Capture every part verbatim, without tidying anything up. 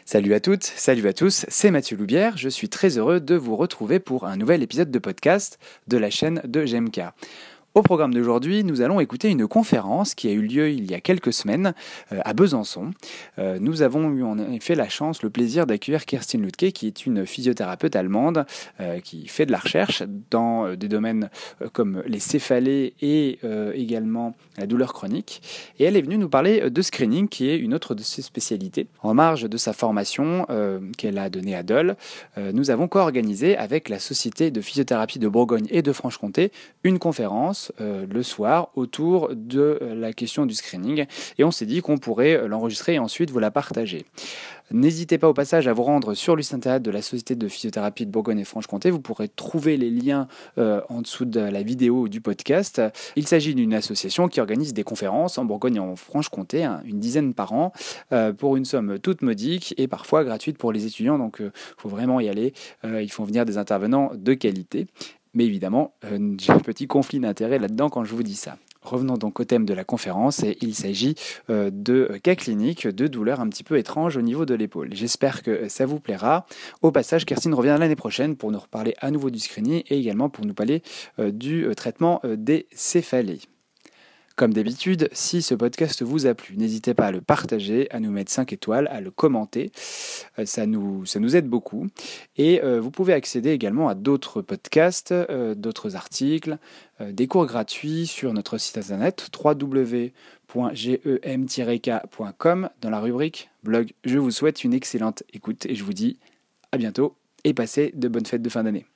Salut à toutes, salut à tous, c'est Mathieu Loubière, je suis très heureux de vous retrouver pour un nouvel épisode de podcast de la chaîne de G M K. Au programme d'aujourd'hui, nous allons écouter une conférence qui a eu lieu il y a quelques semaines euh, à Besançon. Euh, nous avons eu en effet la chance, le plaisir d'accueillir Kerstin Lüdtke, qui est une physiothérapeute allemande euh, qui fait de la recherche dans euh, des domaines euh, comme les céphalées et euh, également la douleur chronique. Et elle est venue nous parler de screening, qui est une autre de ses spécialités. En marge de sa formation euh, qu'elle a donnée à Dole, euh, nous avons co-organisé avec la Société de physiothérapie de Bourgogne et de Franche-Comté une conférence Euh, le soir autour de la question du screening, et on s'est dit qu'on pourrait l'enregistrer et ensuite vous la partager. N'hésitez pas au passage à vous rendre sur le site internet de la Société de physiothérapie de Bourgogne et Franche-Comté. Vous pourrez trouver les liens euh, en dessous de la vidéo ou du podcast. Il s'agit d'une association qui organise des conférences en Bourgogne et en Franche-Comté, hein, une dizaine par an, euh, pour une somme toute modique et parfois gratuite pour les étudiants. Donc il euh, faut vraiment y aller. Euh, ils font venir des intervenants de qualité. Mais évidemment, euh, j'ai un petit conflit d'intérêt là-dedans quand je vous dis ça. Revenons donc au thème de la conférence, et il s'agit euh, de cas cliniques, de douleurs un petit peu étranges au niveau de l'épaule. J'espère que ça vous plaira. Au passage, Kerstin revient l'année prochaine pour nous reparler à nouveau du screening et également pour nous parler euh, du euh, traitement euh, des céphalées. Comme d'habitude, si ce podcast vous a plu, n'hésitez pas à le partager, à nous mettre cinq étoiles, à le commenter. Ça nous, ça nous aide beaucoup. Et euh, vous pouvez accéder également à d'autres podcasts, euh, d'autres articles, euh, des cours gratuits sur notre site internet w w w point gem tiret k point com dans la rubrique blog. Je vous souhaite une excellente écoute et je vous dis à bientôt et passez de bonnes fêtes de fin d'année.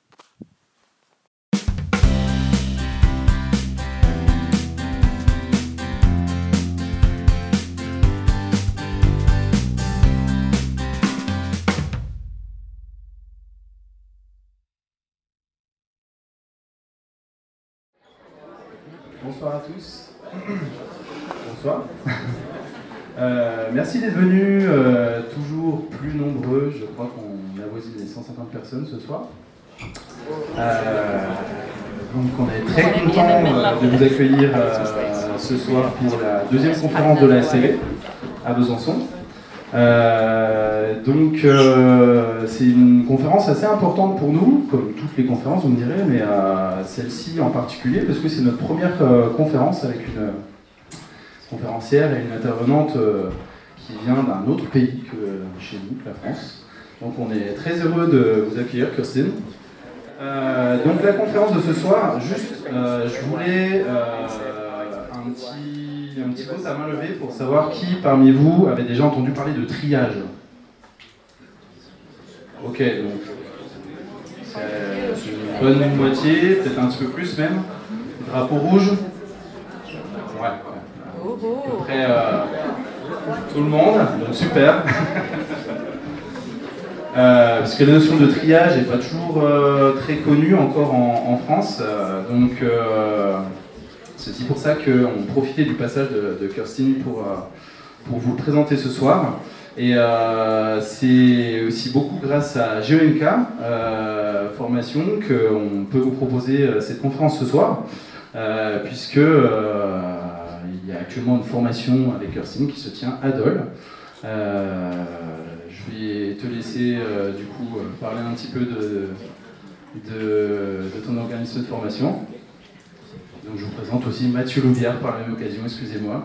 Bonsoir à tous. Bonsoir. Euh, merci d'être venus, euh, toujours plus nombreux. Je crois qu'on avoisine les cent cinquante personnes ce soir. Euh, donc on est très content euh, de vous accueillir euh, ce soir pour la deuxième conférence de la S T B à Besançon. Euh, donc euh, c'est une conférence assez importante pour nous, comme toutes les conférences vous me direz, mais euh, celle-ci en particulier parce que c'est notre première euh, conférence avec une euh, conférencière et une intervenante euh, qui vient d'un autre pays que chez nous, la France. Donc on est très heureux de vous accueillir, Kerstin. Euh, donc la conférence de ce soir, juste euh, je voulais euh, un petit un petit peu à main levée pour savoir qui parmi vous avait déjà entendu parler de triage. Ok, donc c'est une bonne moitié, peut-être un petit peu plus même. Drapeau rouge. Ouais, à peu près euh, tout le monde, donc super. Euh, parce que la notion de triage n'est pas toujours euh, très connue encore en, en France, euh, donc euh, c'est aussi pour ça qu'on profitait du passage de, de Kerstin pour, euh, pour vous le présenter ce soir. Et euh, c'est aussi beaucoup grâce à G M K euh, Formation qu'on peut vous proposer cette conférence ce soir, euh, puisque euh, il y a actuellement une formation avec Kerstin qui se tient à Dole. Euh, je vais te laisser euh, du coup parler un petit peu de, de, de ton organisme de formation. Donc je vous présente aussi Mathieu Loubière par la même occasion, excusez-moi.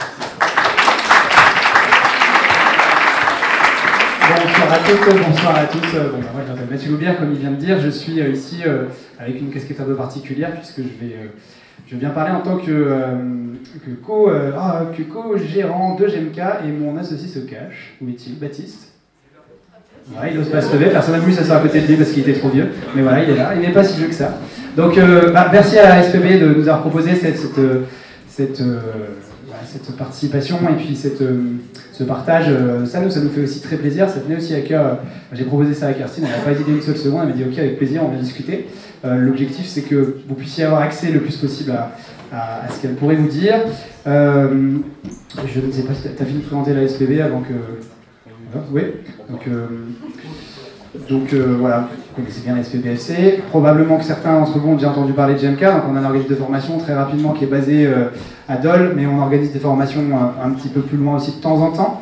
Bonsoir à toutes, bonsoir à tous. Bon, moi je m'appelle Mathieu Loubière, comme il vient de dire, je suis euh, ici euh, avec une casquette un peu particulière puisque je vais, euh, je viens parler en tant que, euh, que, co, euh, ah, que co-gérant de G M K et mon associé se cache. Où est-il? Baptiste? Ouais, il n'ose pas se lever, personne n'a voulu s'asseoir à côté de lui parce qu'il était trop vieux, mais voilà, il est là, il n'est pas si vieux que ça. Donc euh, bah, merci à la S P B de nous avoir proposé cette, cette, cette, euh, voilà, cette participation et puis cette, euh, ce partage. Euh, ça, nous, ça nous fait aussi très plaisir, ça tenait aussi à cœur. Euh, j'ai proposé ça à Kerstin, elle n'a pas hésité une seule seconde, elle m'a dit ok, avec plaisir, on va discuter. Euh, l'objectif, c'est que vous puissiez avoir accès le plus possible à, à, à ce qu'elle pourrait vous dire. Euh, je ne sais pas si tu as fini de présenter la S P B avant que... Oui, donc, euh, donc euh, voilà, vous connaissez bien la S P B F C. Probablement que certains d'entre vous ont déjà entendu parler de G M K. Donc on a un organisme de formation très rapidement qui est basé euh, à Dole, mais on organise des formations euh, un petit peu plus loin aussi de temps en temps.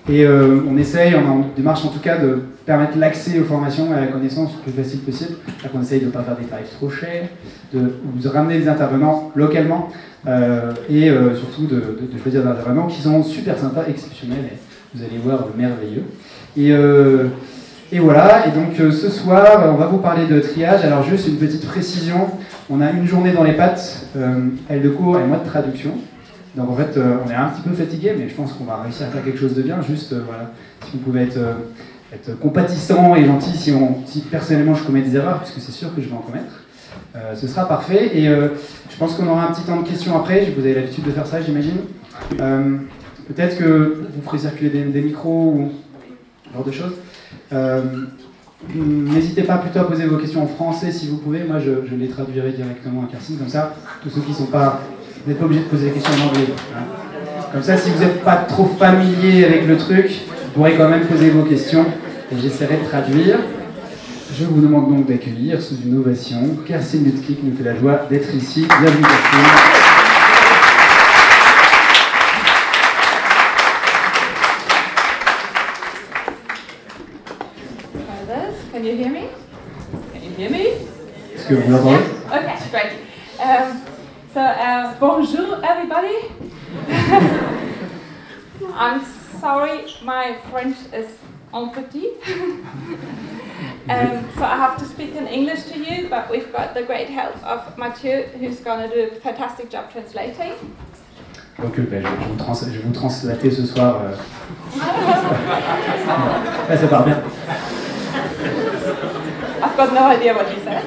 Et euh, on essaye, on est en démarche en tout cas, de permettre l'accès aux formations et à la connaissance le plus facile possible. Donc on essaye de ne pas faire des tarifs trop chers, de, de ramener des intervenants localement euh, et euh, surtout de, de, de choisir des intervenants qui sont super sympas, exceptionnels, et vous allez voir, merveilleux. Et, euh, et voilà, et donc euh, ce soir, on va vous parler de triage. Alors juste une petite précision, on a une journée dans les pattes, euh, elle de cours et moi de traduction. Donc en fait, euh, on est un petit peu fatigué, mais je pense qu'on va réussir à faire quelque chose de bien. Juste, euh, voilà, si vous pouvez être, euh, être compatissant et gentil, si, on, si personnellement je commets des erreurs, parce que c'est sûr que je vais en commettre, euh, ce sera parfait. Et euh, je pense qu'on aura un petit temps de questions après. Vous avez l'habitude de faire ça, j'imagine. Euh, Peut-être que vous ferez circuler des, des micros ou ce genre de choses. Euh, N'hésitez pas plutôt à poser vos questions en français si vous pouvez. Moi, je, je les traduirai directement à Kerstin, comme ça, tous ceux qui ne sont pas... Vous n'êtes pas obligé de poser des questions en anglais. Hein. Comme ça, si vous n'êtes pas trop familier avec le truc, vous pourrez quand même poser vos questions et j'essaierai de traduire. Je vous demande donc d'accueillir sous une ovation Kerstin Lutke, qui nous fait la joie d'être ici. Bienvenue, Kerstin. Can you hear me? Can you hear me? Est-ce que vous m'entendez? Okay, great. Um, so, uh, bonjour everybody. I'm sorry, my French is en petit. um, so I have to speak in English to you, but we've got the great help of Mathieu, who's going to do a fantastic job translating. Donc euh, ben, je, vais vous trans je vais vous translater ce soir. Euh... Là, ça part bien. I've got no idea what you said.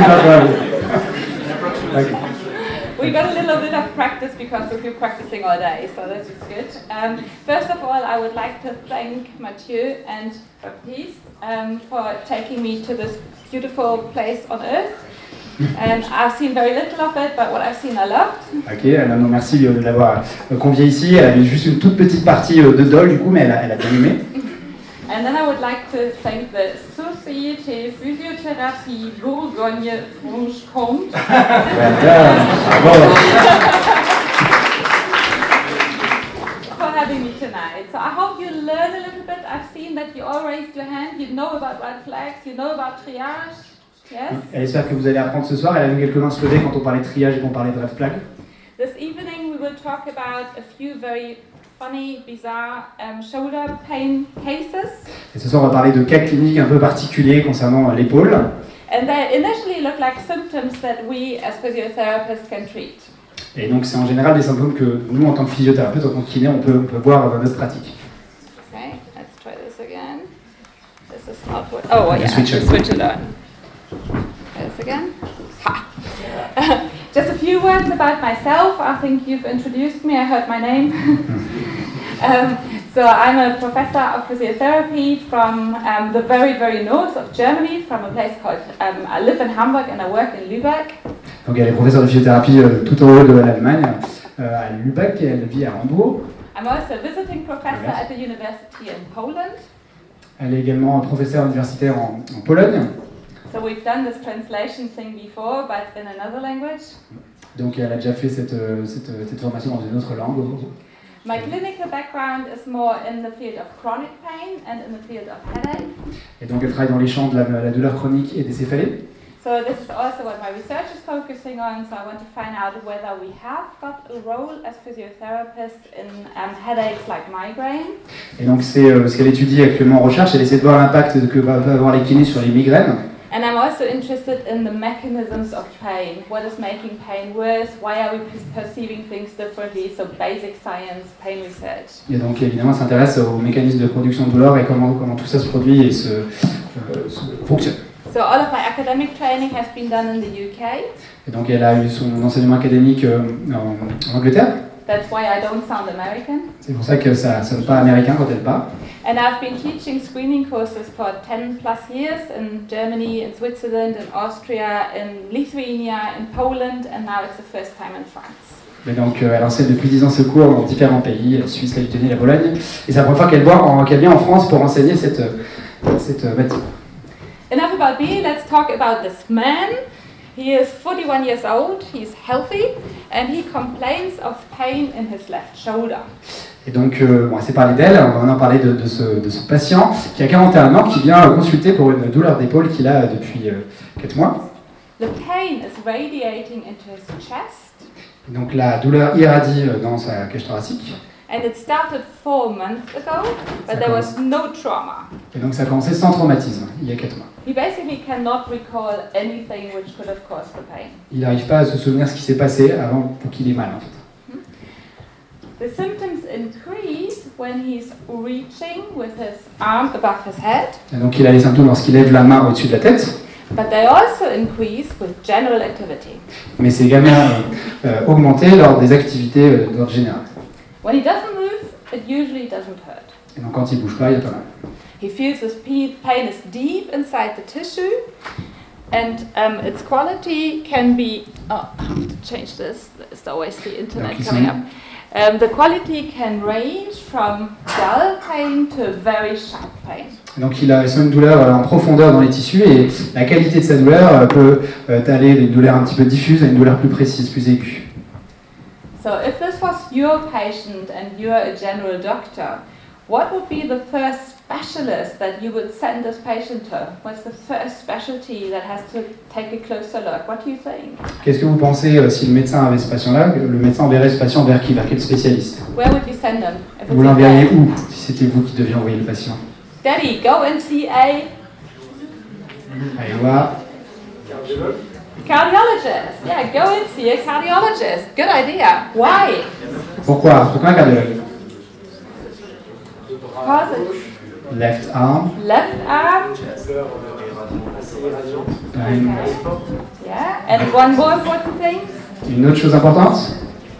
Okay. We got a little bit of practice because we've been practicing all day, so this is good. Um, first of all, I would like to thank Mathieu and Baptiste um, for taking me to this beautiful place on Earth. And I've seen very little of it, but what I've seen I loved. Ok, alors, non, merci de l'avoir conviée ici. Elle avait juste une toute petite partie de Dole, du coup, mais elle a, elle a bien aimé. And then I would like to thank the Société Physiothérapie Bourgogne-Franche-Comté for having me tonight. So I hope you learn a little bit. I've seen that you all raised your hand. You know about red flags. You know about triage. Yes? Elle espère que vous allez apprendre ce soir. Elle a vu quelques mains se lever quand on parlait de triage et qu'on parlait de red flag. This evening we will talk about a few very funny, bizarre um, shoulder pain cases. Et ce soir, on va parler de cas cliniques un peu particuliers concernant l'épaule. And they initially look like symptoms that we as physiotherapists can treat. Et donc, c'est en général des symptômes que nous, en tant que physiothérapeute, en tant que kiné, on peut, on peut voir dans notre pratique. Okay, let's try this again. This is not what. Oh, well, yeah, switch just it. switch it on. Try this again. Ha. Just a few words about myself. I think you've introduced me. I heard my name. um, so I'm a professor of physiotherapy from um, the very, very north of Germany, from a place called. Um, I live in Hamburg and I work in Lübeck. Donc, elle est professeure de physiothérapie euh, tout en haut de l'Allemagne, euh, à Lübeck, et elle vit à Hambourg. I'm also a visiting professor at the university in Poland. Elle est également professeure universitaire en, en Pologne. So we've done this translation thing before, but in another language. Donc elle a déjà fait cette, cette, cette formation dans une autre langue. My clinical background is more in the field of chronic pain and in the field of headache. Et donc elle travaille dans les champs de la, la douleur chronique et des céphalées. So this is also what my research is focusing on. So I want to find out whether we have got a role as physiotherapists in um, headaches like migraine. Et donc c'est euh, ce qu'elle étudie actuellement en recherche. Elle essaie de voir l'impact que peuvent avoir les kinés sur les migraines. And I'm also interested in the mechanisms of pain. What is making pain worse? Why are we perceiving things differently? So basic science, pain research. Et donc évidemment, elle s'intéresse aux mécanismes de production de douleur et comment, comment tout ça se produit et se, euh, se fonctionne. So all of my academic training has been done in the U K. Et donc elle a eu son enseignement académique euh, en, en Angleterre. That's why I don't sound American. C'est pour ça que ça ne sonne pas américain quand elle parle. And I've been teaching screening courses for ten plus years in Germany, in Switzerland, in Austria, in Lithuania, in Poland, and now it's the first time in France. Et donc euh, elle enseigne depuis dix ans ce cours dans différents pays, la Suisse, la Lituanie, la Pologne. Et c'est la première fois qu'elle qu'elle vient en France pour enseigner cette, cette matière. Enough about me, let's talk about this man. He is forty-one years old, he's healthy, and he complains of pain in his left shoulder. Et donc, euh, bon, c'est parlé d'elle, on va maintenant parler de, de, ce, de ce patient qui a quarante et un ans, qui vient consulter pour une douleur d'épaule qu'il a depuis euh, quatre mois. The pain is radiating into his chest, Et donc la douleur irradie euh, dans sa cage thoracique. and it started four months ago, but there was no trauma. Et donc ça a commencé sans traumatisme, il y a quatre mois. He basically cannot recall anything which could have caused the pain. Il n'arrive pas à se souvenir ce qui s'est passé avant pour qu'il ait mal en fait. The symptoms increase when he's reaching with his arm above his head, Et donc il a les symptômes lorsqu'il lève la main au-dessus de la tête, but they also increase with general activity. mais c'est également euh, euh, augmenté lors des activités euh, d'ordre général. When he doesn't move, it usually doesn't hurt. Et donc quand il bouge pas, il y a pas mal. He feels this pe- pain is deep inside the tissue, and um, its quality can be. Oh, I have to change this. There's always the internet Donc, ils coming sont- up. Um, the quality can range from dull pain to very sharp pain. Et donc il a il sent une douleur euh, en profondeur dans les tissus et la qualité de sa douleur euh, peut euh, aller d'une douleur un petit peu diffuse à une douleur plus précise, plus aiguë. So, if this was your patient and you're a general doctor, what would be the first specialist that you would send this patient to? What's the first specialty that has to take a closer look? What do you think? Qu'est-ce que vous pensez euh, si le médecin avait ce patient-là, le médecin enverrait ce patient vers qui, vers quel spécialiste? Where would you send them? If Vous it's l'enverriez okay? où si c'était vous qui deviez envoyer le patient? Daddy, go and see a Allez voir. cardiologist. Yeah, go and see a cardiologist. Good idea. Why? Pourquoi? Pourquoi un cardiologue? Because it's Left arm. left arm. Pain. Yeah, and one more important thing. Une autre chose importante?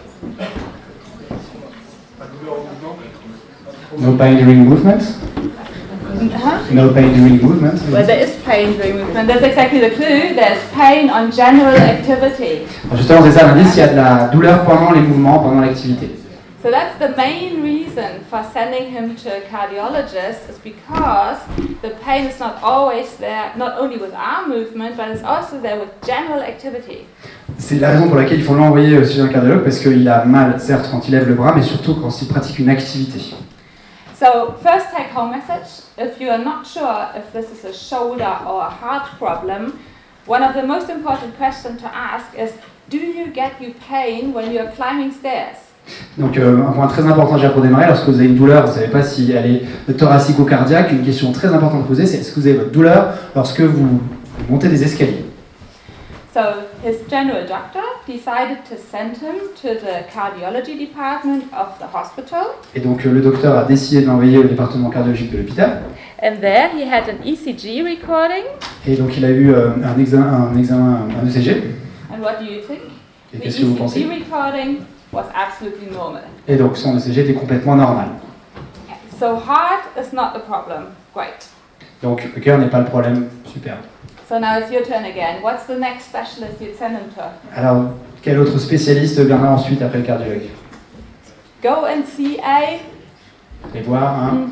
No pain during movement. Huh? No pain during movement. Well, there is pain during movement. That's exactly the clue. There's pain on general activity. Justement, c'est ça l'indice, il y a de la douleur pendant les mouvements, pendant l'activité. So that's the main reason for sending him to a cardiologist, is because the pain is not always there, not only with arm movement, but it's also there with general activity. C'est la raison pour laquelle il faut l'envoyer chez un cardiologue, parce qu'il a mal, certes, quand il lève le bras, mais surtout quand il pratique une activité. So first take home message, if you are not sure if this is a shoulder or a heart problem, one of the most important questions to ask is, do you get you pain when you are climbing stairs? Donc euh, un point très important déjà pour démarrer, lorsque vous avez une douleur, vous ne savez pas si elle est thoracique ou cardiaque, une question très importante à poser, c'est est-ce que vous avez votre douleur lorsque vous montez des escaliers? So his general doctor decided to send him to the cardiology department of the hospital. Et donc euh, le docteur a décidé de l'envoyer au département cardiologique de l'hôpital. And there he had an E C G recording. Et donc il a eu euh, un examen, un examen, un E C G. And what do you think? Et The qu'est-ce que vous E C G pensez? recording was absolutely normal. Et donc son E C G était complètement normal. So heart is not the problem. Great. Donc le cœur n'est pas le problème, super. So now it's your turn again. What's the next specialist you'd send him to? Alors quel autre spécialiste viendra ensuite après le cardiologue? Go and see a Allez voir un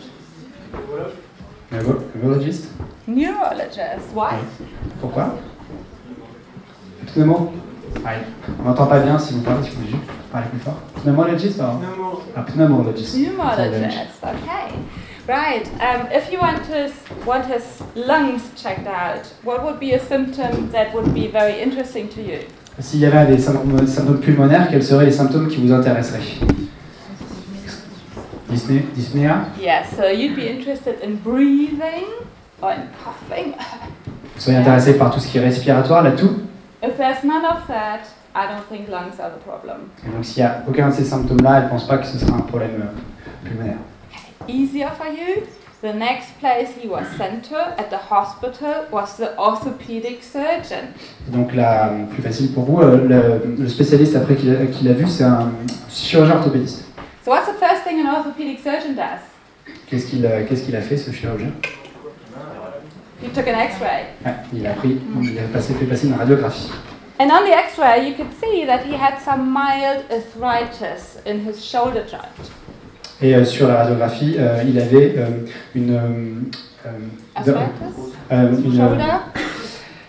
neuro- neurologiste. neurologist. Why? Pourquoi? Pneumo. Ah, on n'entend pas bien si vous parlez, si vous juste parlez plus fort. Pneumologist or? Ah, pneumologist. Pneumologist. Okay. Right. Um, if you want to s- want his lungs checked out, what would be a symptom that would be very interesting to you? S'il y avait des symptômes, symptômes pulmonaires, quels seraient les symptômes qui vous intéresseraient? Dyspnée, dyspnéa. Yes. So you'd be interested in breathing or in coughing. Vous seriez intéressé par tout ce qui est respiratoire, là tout. If there's none of that, I don't think lungs are the problem. Et donc s'il n'y a aucun de ces symptômes-là, elle ne pense pas que ce sera un problème euh, pulmonaire. Easier for you. The next place he was sent to at the hospital was the orthopedic surgeon. Donc là, plus facile pour vous, euh, le, le spécialiste après qu'il a, qu'il a vu, c'est un chirurgien orthopédiste. So what's the first thing an orthopedic surgeon does? Qu'est-ce qu'il a, qu'est-ce qu'il a fait, ce chirurgien? He took an X-ray. Ouais, il a pris, il a passé, fait passer une radiographie. And on the X-ray, you could see that he had some mild arthritis in his shoulder joint. Et euh, sur la radiographie, euh, il avait euh, une, euh, euh, Arthritis? euh, une, Shoulder? je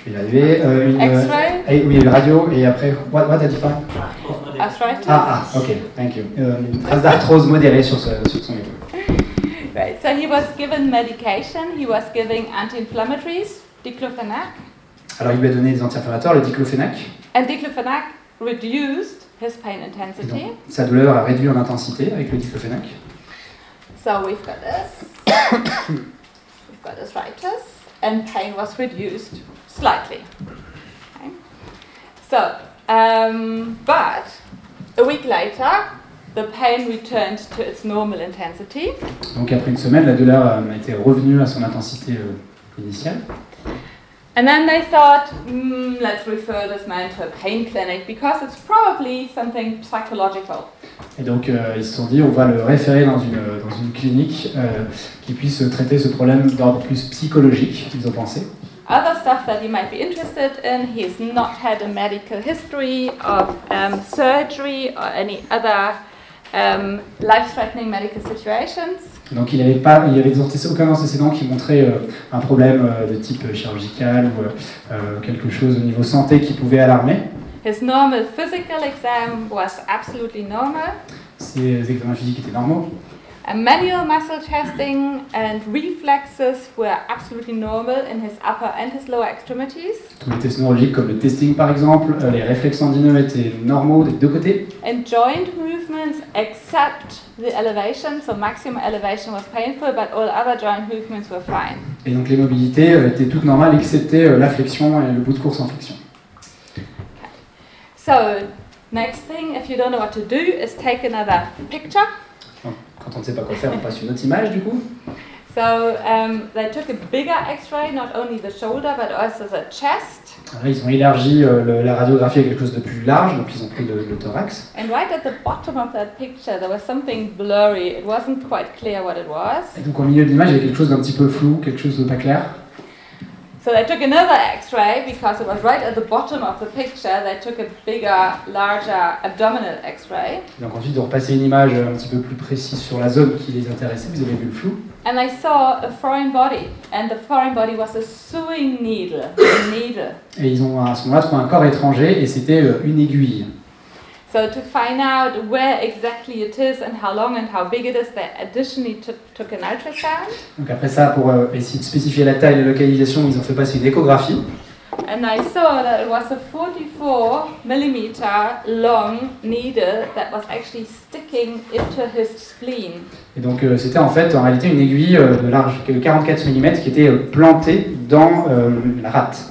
Je vais y arriver. Euh, une, X-ray. Euh, oui, une radio et après, what, what did you find? Arthritis. Ah, ah, ok, thank you. Euh, une trace d'arthrose modérée sur, ce, sur son épaule. Right. So he was given medication. He was giving anti-inflammatories, diclofenac, Alors il lui a donné des anti-inflammatoires, le diclofenac. and diclofenac reduced his pain Et intensity. donc, sa douleur a réduit en intensité avec le diclofenac. So we've got this. We've got arthritis, and pain was reduced slightly. Okay. So, um, but a week later, the pain returned to its normal intensity. Donc après une semaine, la douleur euh, était revenue à son intensité euh, initiale. And then they thought, mm, let's refer this man to a pain clinic because it's probably something psychological. Et donc euh, ils se sont dit, on va le référer dans une, dans une clinique euh, qui puisse traiter ce problème d'ordre plus psychologique, ils ont pensé. Other stuff that he might be interested in, he's not had a medical history of um, surgery or any other um, life-threatening medical situations. Donc il avait pas, il y avait aucun antécédent qui montrait euh, un problème euh, de type chirurgical ou euh, quelque chose au niveau santé qui pouvait alarmer. His normal physical exam was absolutely normal. Ses examens physiques étaient normaux. A manual muscle testing and reflexes were absolutely normal in his upper and his lower extremities. Tous les tests neurologiques comme le testing par exemple, euh, les réflexes tendineux étaient normaux des deux côtés. And joint movements except the elevation, so maximum elevation was painful, but all other joint movements were fine. Et donc les mobilités euh, étaient toutes normales excepté euh, la flexion et le bout de course en flexion. So, next thing, if you don't know what to do, is take another picture. Donc, quand on ne sait pas quoi faire, on passe une autre image du coup. So, um, they took a bigger X-ray, not only the shoulder, but also the chest. Alors, ils ont élargi euh, le, la radiographie à quelque chose de plus large, donc ils ont pris le, le thorax. And right at the bottom of that picture, there was something blurry. It wasn't quite clear what it was. Et donc au milieu de l'image, il y a quelque chose d'un petit peu flou, quelque chose de pas clair. So they took another X-ray because it was right at the bottom of the picture. They took a bigger, larger abdominal X-ray. Donc ensuite, ils ont repassé une image un petit peu plus précise sur la zone qui les intéressait. Vous avez vu le flou. And they saw a foreign body, and the foreign body was a sewing needle. A needle. Et ils ont à ce moment-là trouvé un corps étranger et c'était euh, une aiguille. So to find out where exactly it is and how long and how big it is, they additionally took, took an ultrasound. Donc après ça, pour euh, essayer de spécifier la taille et la localisation, ils ont fait passer une échographie. And I saw that it was a forty-four millimeter long needle that was actually sticking into his spleen. Et donc euh, c'était en fait en réalité une aiguille euh, de large de quarante-quatre millimètres qui était euh, plantée dans euh, la rate.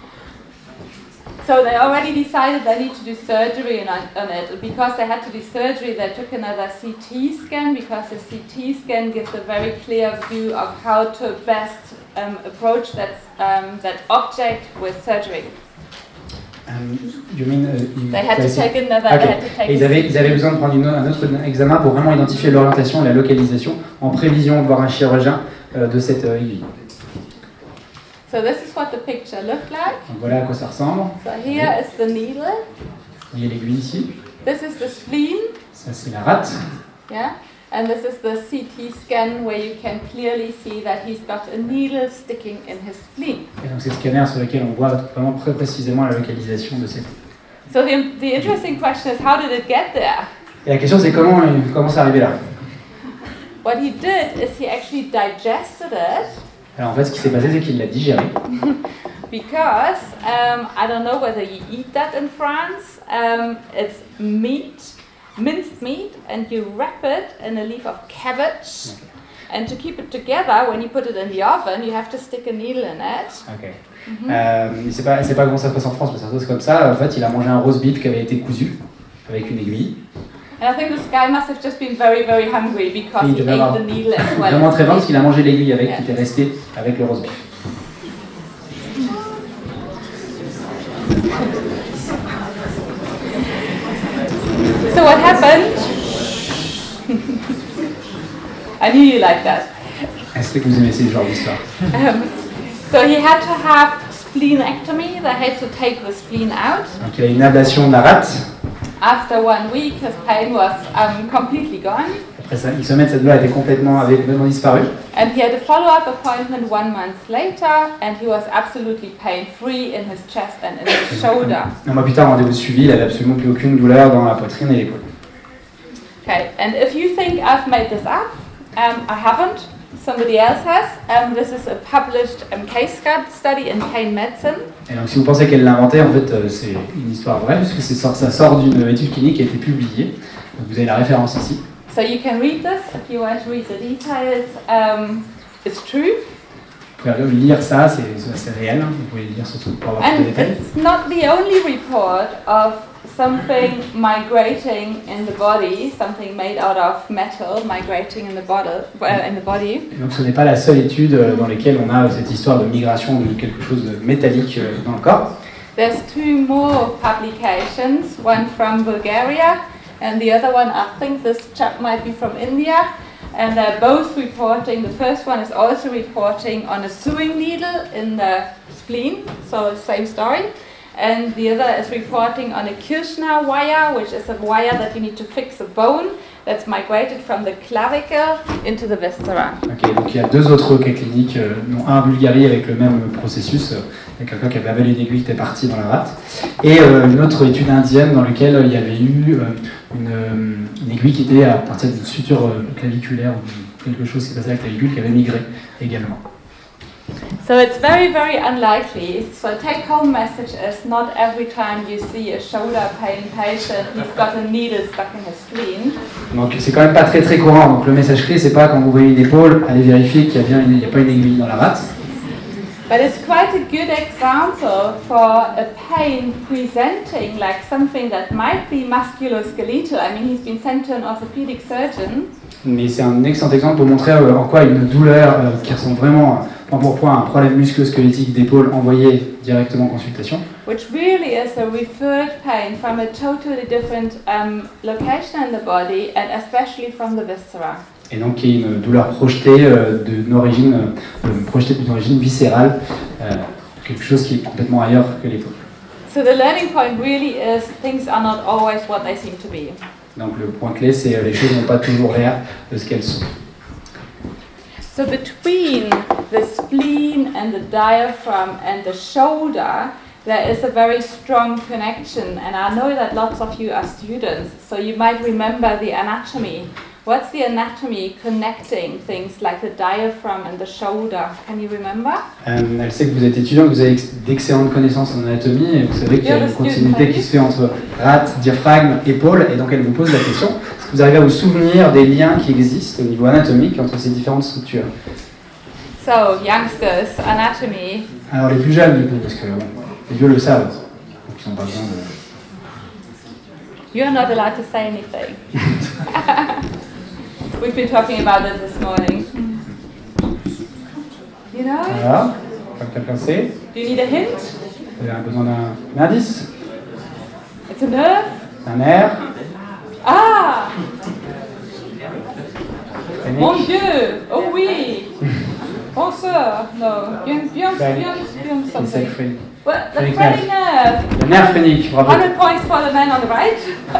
So they already decided they need to do surgery on, on it. Because they had to do surgery, they took another C T scan because the C T scan gives a very clear view of how to best um, approach that, um, that object with surgery. Um, you mean, uh, you, They had to take another. Okay. They had to take Et ils, avaient, ils avaient besoin de prendre une, un autre examen pour vraiment identifier l'orientation et la localisation en prévision de voir un chirurgien euh, de cette euh, aiguille. So this is what the picture looked like. Donc voilà à quoi ça ressemble. So here is the needle. Vous voyez l'aiguille ici. This is the spleen. Ça c'est la rate. Yeah. And this is the C T scan where you can clearly see that he's got a needle sticking in his spleen. Et donc c'est le scanner sur lequel on voit vraiment très précisément la localisation de cette. So the, the interesting question is, how did it get there? Et la question c'est comment comment c'est arrivé là. What he did is he actually digested it. Alors en fait ce qui s'est passé c'est qu'il l'a digéré. Because um, I don't know whether you eat that in France. Um, it's meat, minced meat, and you wrap it in a leaf of cabbage. Okay. And to keep it together, when you put it in the oven, you have to stick a needle in it. Ok. Mm-hmm. Euh, c'est pas c'est pas comment ça se passe en France, mais ça se passe comme ça. En fait il a mangé un roast beef qui avait été cousu avec une aiguille. And I think this guy must have just been very, very hungry because Il he devait ate avoir the needle as well. vraiment très faim parce qu'il a mangé l'aiguille avec Yeah. qui était restée avec le roast beef. So what happened? I knew you liked that. Est-ce que vous aimez ce genre d'histoire? Um, so he had to have spleenectomy. They had to take the spleen out. Donc il a une ablation de la rate. After one week, his pain was um, completely gone. Il se met cette douleur était complètement, avait complètement disparu. And he had a follow-up appointment one month later, and he was absolutely pain-free in his chest and in his shoulder. Un mois plus tard, rendez-vous suivi, il n'avait absolument plus aucune douleur dans la poitrine et l'épaule. Okay, and if you think I've made this up, um, I haven't. Somebody else has. Um, this is a published um, case study in pain medicine. Et donc, si vous pensez qu'elle l'a inventé, en fait, euh, c'est une histoire vraie, puisque c'est sort, ça sort d'une étude clinique qui a été publiée. Donc, vous avez la référence ici. So you can read this if you want to read the details. Um, it's true. Vous pouvez lire ça, c'est, c'est réel. Hein. Vous pouvez lire ce truc pour avoir tous les And détails. it's not the only report of something migrating in the body, something made out of metal migrating in the body. Uh, in the body. Et donc, ce n'est pas la seule étude dans laquelle on a cette histoire de migration de quelque chose de métallique dans le corps. There's two more publications, one from Bulgaria and the other one, I think this chap might be from India, and they're both reporting. The first one is also reporting on a sewing needle in the spleen, so same story. And the other is reporting on a Kirschner wire, which is a wire that you need to fix a bone that's migrated from the clavicle into the viscera. Ok, donc il y a deux autres cas cliniques, euh, dont un en Bulgarie avec le même processus, euh, avec quelqu'un qui avait avalé une aiguille qui était partie dans la rate, et euh, une autre étude indienne dans laquelle euh, il y avait eu euh, une, euh, une aiguille qui était à partir d'une suture euh, claviculaire ou quelque chose qui passait à la clavicule qui avait migré également. So it's very, very unlikely. So take-home message is not every time you see a shoulder pain patient, he's got a needle stuck in his spleen. Donc c'est quand même pas très très courant. Donc le message clé, c'est pas quand vous voyez une épaule, allez vérifier qu'il y a bien une, il y a pas une aiguille dans la rate. But it's quite a good example for a pain presenting like something that might be musculoskeletal. I mean, he's been sent to an orthopedic surgeon. Mais c'est un excellent exemple pour montrer euh, en quoi une douleur euh, qui ressemble vraiment point pour point à un problème musculo-squelettique d'épaule envoyé directement en consultation. Which really is a referred pain from a totally different um, location in the body and especially from the viscera. Et donc qui est une douleur projetée euh, d'une origine, euh, projetée d'une origine viscérale, euh, quelque chose qui est complètement ailleurs que l'épaule. So the learning point really is things are not always what they seem to be. Donc le point clé, c'est euh, les choses n'ont pas toujours l'air de ce qu'elles sont. So between the spleen and the diaphragm and the shoulder, there is a very strong connection. And I know that lots of you are students, so you might remember the anatomy. What's the anatomy connecting things like the diaphragm and the shoulder? Can you remember? Euh, elle sait que vous êtes étudiant, que vous avez ex- d'excellentes connaissances en anatomie, et vous savez qu'il y a une continuité qui se fait entre rate, diaphragme, épaule, et donc elle vous pose la question, est-ce que vous arrivez à vous souvenir des liens qui existent au niveau anatomique entre ces différentes structures? So, youngsters, anatomy. Alors les plus jeunes du coup, parce que bon, les vieux le savent, donc ils n'ont pas besoin de... You're not allowed to say anything. We've been talking about this this morning. You know it? Voilà, comme quelqu'un sait, Do you need a hint? vous avez besoin d'un d'un indice, It's a nerve? d'un nerf, Ah! Mon phrenique, Dieu! Oh oui! Bonsoir! No. Bien, bien, bien, bien c'est ça something. le phrenique. Well, the Phrenic phrenic nerve. Le nerf phrénique, bravo. one hundred points for the man on the right.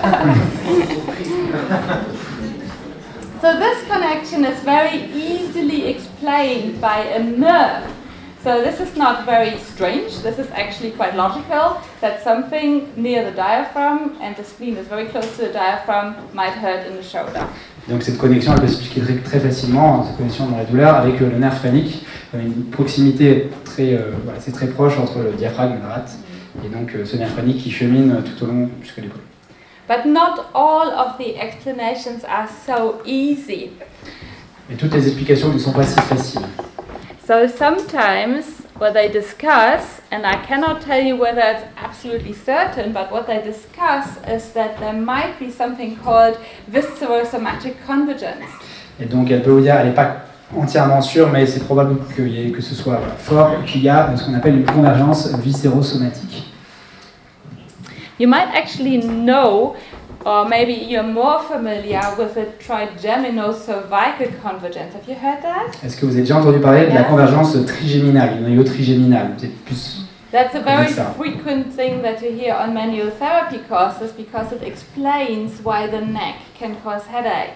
So this connection is very easily explained by a nerve. So this is not very strange. This is actually quite logical that something near the diaphragm, and the spleen is very close to the diaphragm, might hurt in the shoulder. Donc cette connexion, elle peut s'expliquer très, très facilement, cette connexion dans la douleur, avec euh, le nerf phrénique. Il y a une proximité très, euh, voilà, c'est très proche entre le diaphragme et la rate. Et donc euh, ce nerf phrénique qui chemine tout au long jusqu'à l'épaule. But not all of the explanations are so easy. Mais toutes les explications ne sont pas si faciles. So sometimes what they discuss, and I cannot tell you whether it's absolutely certain, but what they discuss is that there might be something called viscerosomatic convergence. Et donc elle peut vous dire, elle n'est pas entièrement sûre, mais c'est probable que, y ait, que ce soit voilà, fort, qu'il y a ce qu'on appelle une convergence viscérosomatique. You might actually know, or maybe you're more familiar with the trigeminocervical convergence. Have you heard that? Est-ce que vous avez déjà entendu parler de la Yeah. convergence trigéminale, du noyau trigéminal? C'est plus... That's a very Yes, sir. frequent thing that you hear on manual therapy courses because it explains why the neck can cause headaches.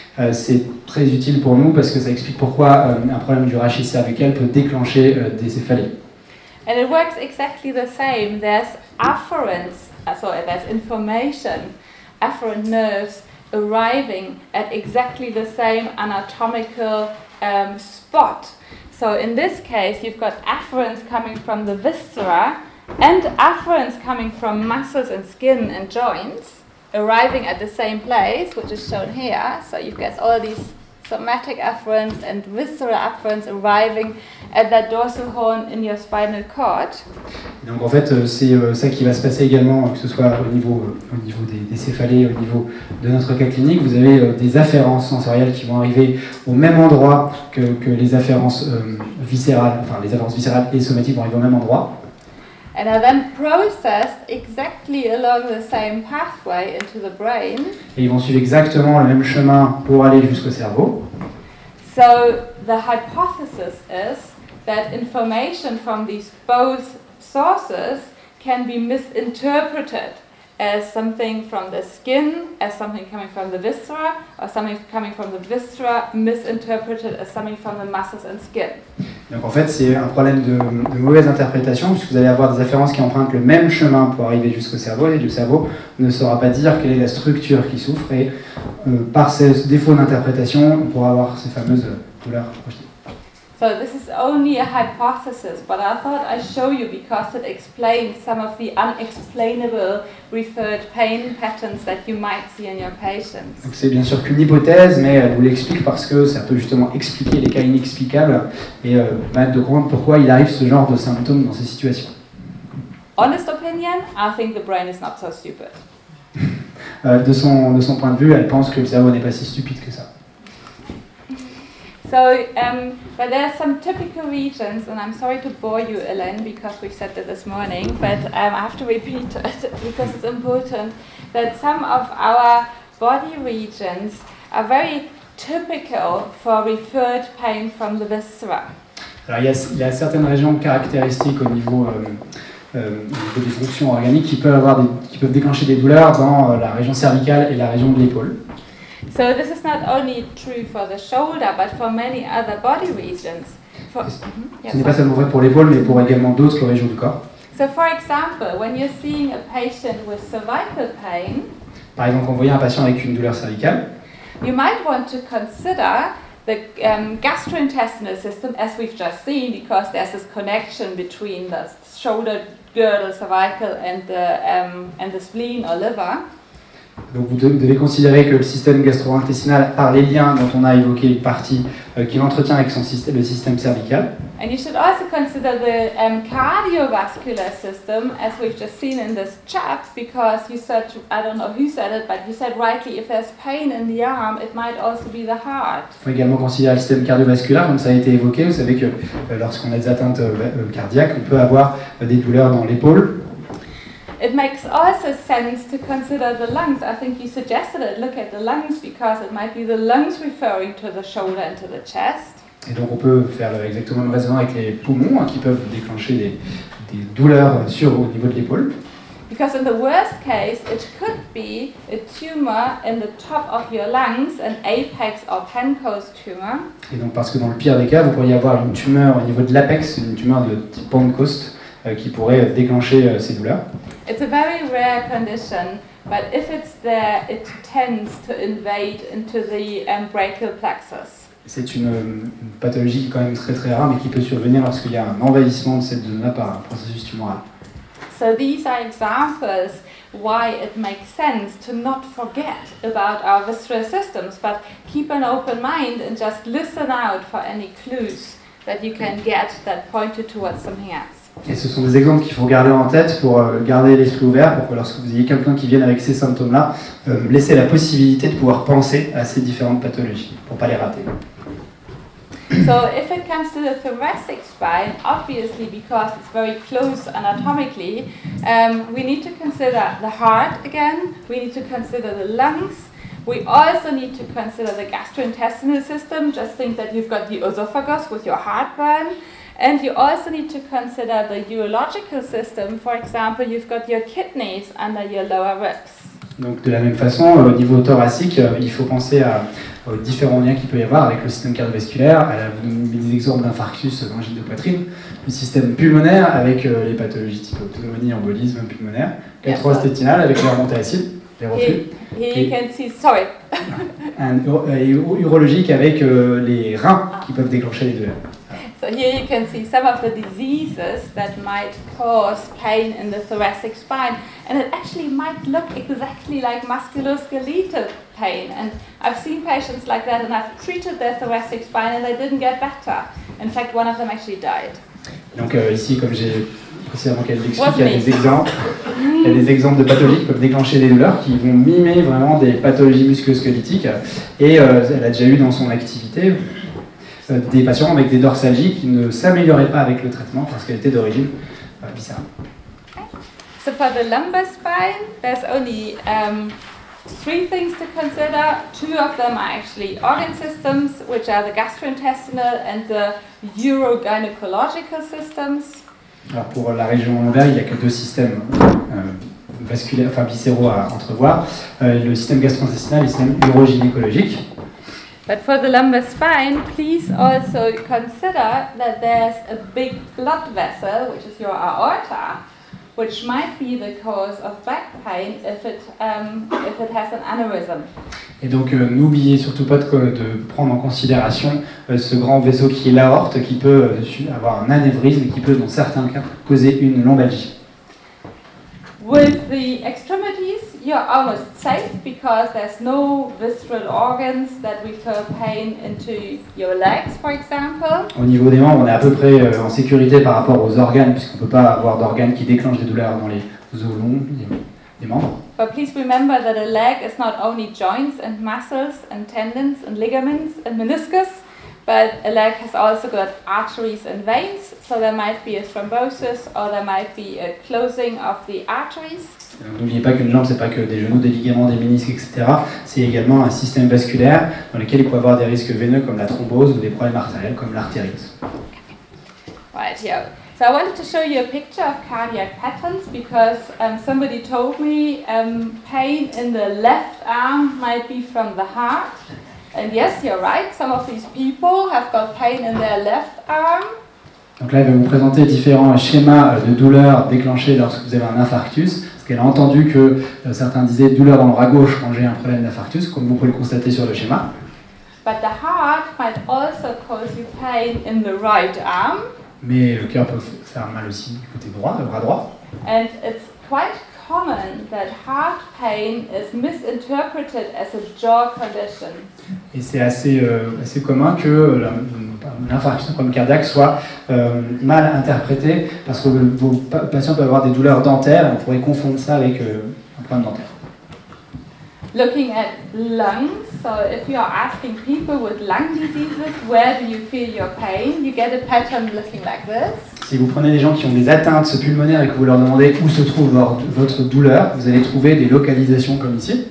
Euh, c'est très utile pour nous parce que ça explique pourquoi euh, un problème du rachis cervical peut déclencher euh, des céphalées. And it works exactly the same. There's afferents, uh, so there's information, afferent nerves arriving at exactly the same anatomical um, spot. So in this case, you've got afferents coming from the viscera and afferents coming from muscles and skin and joints, arriving at the same place, which is shown here. So you've got all these somatic afferents and visceral afferents arriving at that dorsal horn in your spinal cord. Donc en fait, euh, c'est euh, ça qui va se passer également, que ce soit au niveau, euh, au niveau des, des céphalées, au niveau de notre cas clinique. Vous avez euh, des afférences sensorielles qui vont arriver au même endroit que, que les afférences euh, viscérales, enfin les afférences viscérales et somatiques vont arriver au même endroit. And are then processed exactly along the same pathway into the brain. Et ils vont suivre exactement le même chemin pour aller jusqu'au cerveau. So the hypothesis is that information from these both sources can be misinterpreted as something from the skin, as something coming from the viscera, or something coming from the viscera misinterpreted as something from the muscles and skin. Donc en fait, c'est un problème de, de mauvaise interprétation, puisque vous allez avoir des afférences qui empruntent le même chemin pour arriver jusqu'au cerveau, et le cerveau ne saura pas dire quelle est la structure qui souffre, et euh, par ces défauts d'interprétation, on pourra avoir ces fameuses douleurs projetées. So this is only a hypothesis, but I thought I'd show you because it explains some of the unexplainable referred pain patterns that you might see in your patients. Donc c'est bien sûr qu'une hypothèse, mais elle vous l'explique parce que ça peut justement expliquer les cas inexplicables et euh, permettre de comprendre pourquoi il arrive ce genre de symptômes dans ces situations. Honest opinion, I think the brain is not so stupid. Euh, de, son, de son point de vue, elle pense que le cerveau n'est pas si stupide que ça. So, um, but there are some typical regions, and I'm sorry to bore you, Elaine, because we've said that this morning, but um, I have to repeat it because it's important, that some of our body regions are very typical for referred pain from the viscera. Alors il y a, il y a certaines régions caractéristiques au niveau, euh, euh, au niveau des fonctions organiques qui peuvent, avoir des, qui peuvent déclencher des douleurs dans euh, la région cervicale et la région de l'épaule. So this is not only true for the shoulder, but for many other body regions. For, mm-hmm, yes, Ce n'est pas seulement vrai pour l'épaule, mais pour également d'autres régions du corps. So for example, when you're seeing a patient with cervical pain, par exemple, quand vous voyez un patient avec une douleur cervicale, you might want to consider the um, gastrointestinal system, as we've just seen, because there's this connection between the shoulder girdle, cervical, and the, um, and the spleen or liver. Donc vous devez considérer que le système gastro-intestinal, par les liens dont on a évoqué une partie, euh, qui l'entretient avec son système, le système cervical. And you should also consider the um, cardiovascular system, as we've just seen in this chat, because you said, I don't know who said it, but you said rightly, if there's pain in the arm, it might also be the heart. Il faut également considérer le système cardiovasculaire, comme ça a été évoqué. Vous savez que euh, lorsqu'on a des atteintes euh, cardiaques, on peut avoir euh, des douleurs dans l'épaule. It makes also sense to consider the lungs. I think you suggested it. Look at the lungs because it might be the lungs referring to the shoulder and to the chest. Et donc on peut faire exactement le raisonnement avec les poumons hein, qui peuvent déclencher des, des douleurs sur, au niveau de l'épaule. Because in the worst case, it could be a tumor in the top of your lungs, an apex or Pancoast tumor. Et donc parce que dans le pire des cas, vous pourriez avoir une tumeur au niveau de l'apex, une tumeur de type Pancoast euh, qui pourrait déclencher euh, ces douleurs. It's a very rare condition, but if it's there, it tends to invade into the um, brachial plexus. C'est une, une pathologie qui est quand même très très rare, mais qui peut survenir lorsqu'il y a un envahissement de cette zone-là par un processus tumoral. So these are examples why it makes sense to not forget about our visceral systems, but keep an open mind and just listen out for any clues that you can get that point you towards something else. Et ce sont des exemples qu'il faut garder en tête pour euh, garder l'esprit ouvert, pour que lorsque vous ayez quelqu'un qui vienne avec ces symptômes-là, euh, laissez la possibilité de pouvoir penser à ces différentes pathologies, pour ne pas les rater. So if it comes to the thoracic spine, obviously because it's very close anatomically, um, we need to consider the heart again, we need to consider the lungs, we also need to consider the gastrointestinal system. Just think that you've got the esophagus with your heartburn. And you also need to consider the urological system. For example, you've got your kidneys under your lower ribs. Donc de la même façon, au niveau thoracique, il faut penser à, aux différents liens qu'il peut y avoir avec le système cardiovasculaire, à la, vous donnez des exemples d'infarctus, d'angine de poitrine, le système pulmonaire avec euh, les pathologies type pneumonie, embolisme pulmonaire, gastro-intestinal avec les remontées acides, les reflux, Here, here you can see, sorry. un, et urologique avec euh, les reins qui peuvent déclencher les douleurs. So here you can see some of the diseases that might cause pain in the thoracic spine, and it actually might look exactly like musculoskeletal pain. And I've seen patients like that, and I've treated their thoracic spine, and they didn't get better. In fact, one of them actually died. Donc euh, ici, comme j'ai précédemment qu'elle l'explique, il y a des exemples, il y a des exemples de pathologies qui peuvent déclencher des douleurs, qui vont mimer vraiment des pathologies musculo-squelettiques. Et euh, elle a déjà eu dans son activité des patients avec des dorsalgies qui ne s'amélioraient pas avec le traitement parce qu'elles étaient d'origine euh, viscérale. So for the lumbar spine, there's only um, three things to consider. Two of them are actually organ systems, which are the gastrointestinal and the urogynecological systems. Alors pour la région lombaire, il n'y a que deux systèmes euh, vasculaires, enfin viscéraux à entrevoir, euh, le système gastro-intestinal et le système urogynécologique. But for the lumbar spine, please also consider that there's a big blood vessel, which is your aorta, which might be the cause of back pain if it, um, if it has an aneurysm. Et donc euh, n'oubliez surtout pas de, de prendre en considération euh, ce grand vaisseau qui est l'aorte, qui peut euh, avoir un anévrisme et qui peut dans certains cas causer une lombalgie. With the extremities, you're almost safe because there's no visceral organs that refer pain into your legs, for example. Au niveau des membres, on est à peu près euh, en sécurité par rapport aux organes, puisqu'on ne peut pas avoir d'organes qui déclenchent des douleurs dans les os longs des membres. But please remember that a leg is not only joints and muscles and tendons and ligaments and meniscus, but a leg has also got arteries and veins, so there might be a thrombosis or there might be a closing of the arteries. N'oubliez pas qu'une jambe, c'est pas que des genoux, des ligaments, des ménisques, et cetera. C'est également un système vasculaire dans lequel il peut y avoir des risques veineux comme la thrombose ou des problèmes artériels comme l'artérite. Right here. So I wanted to show you a picture of cardiac patterns because um, somebody told me um, pain in the left arm might be from the heart. And yes, you're right, some of these people have got pain in their left arm. Donc là, elle va vous présenter différents schémas de douleurs déclenchés lorsque vous avez un infarctus. Parce qu'elle a entendu que euh, certains disaient douleur dans le bras gauche quand j'ai un problème d'infarctus, comme vous pouvez le constater sur le schéma. But the heart might also cause you pain in the right arm. Mais le cœur peut faire mal aussi du côté droit, le bras droit. And it's quite common that heart pain is misinterpreted as a jaw condition. Et c'est assez, euh, assez commun que l'infarctus, un problème cardiaque, soit euh, mal interprété parce que vos patients peuvent avoir des douleurs dentaires et on pourrait confondre ça avec euh, un problème dentaire. Looking at lungs, so if you are asking people with lung diseases, where do you feel your pain, you get a pattern looking like this. Si vous prenez des gens qui ont des atteintes pulmonaires et que vous leur demandez où se trouve votre douleur, vous allez trouver des localisations comme ici.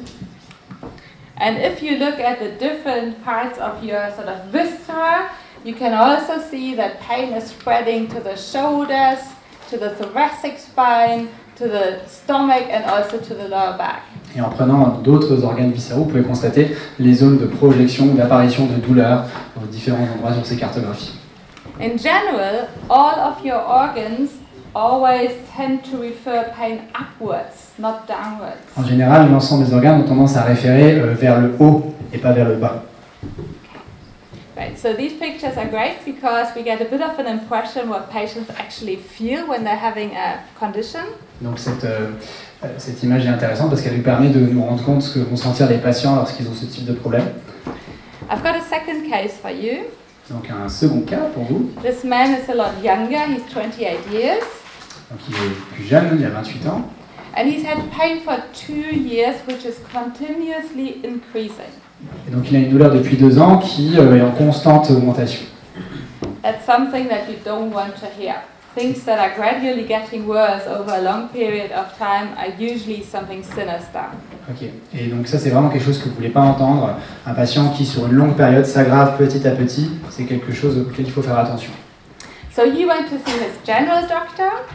And if you look at the different parts of your sort of viscera, you can also see that pain is spreading to the shoulders, to the thoracic spine, to the stomach and also to the lower back. Et en prenant d'autres organes viscéraux, vous pouvez constater les zones de projection ou d'apparition de douleurs dans différents endroits sur ces cartographies. In general, all of your organs always tend to refer pain upwards, not downwards. En général, l'ensemble des organes ont tendance à référer euh, vers le haut et pas vers le bas. Right, so these pictures are great because we get a bit of an impression what patients actually feel when they're having a condition. Donc cette, euh, cette image est intéressante parce qu'elle nous permet de nous rendre compte de ce que vont sentir les patients lorsqu'ils ont ce type de problème. I've got a second case for you. Donc un second cas pour vous. This man is a lot younger, he's twenty-eight years. Donc il est plus jeune, il a vingt-huit ans. And he's had pain for two years which is continuously increasing. Et donc il a une douleur depuis deux ans qui euh, est en constante augmentation. That's something that you don't want to hear. Things that are gradually getting worse over a long period of time are usually something sinister. Ok. Et donc ça c'est vraiment quelque chose que vous ne voulez pas entendre. Un patient qui sur une longue période s'aggrave petit à petit, c'est quelque chose auquel il faut faire attention. So he went to see his general doctor,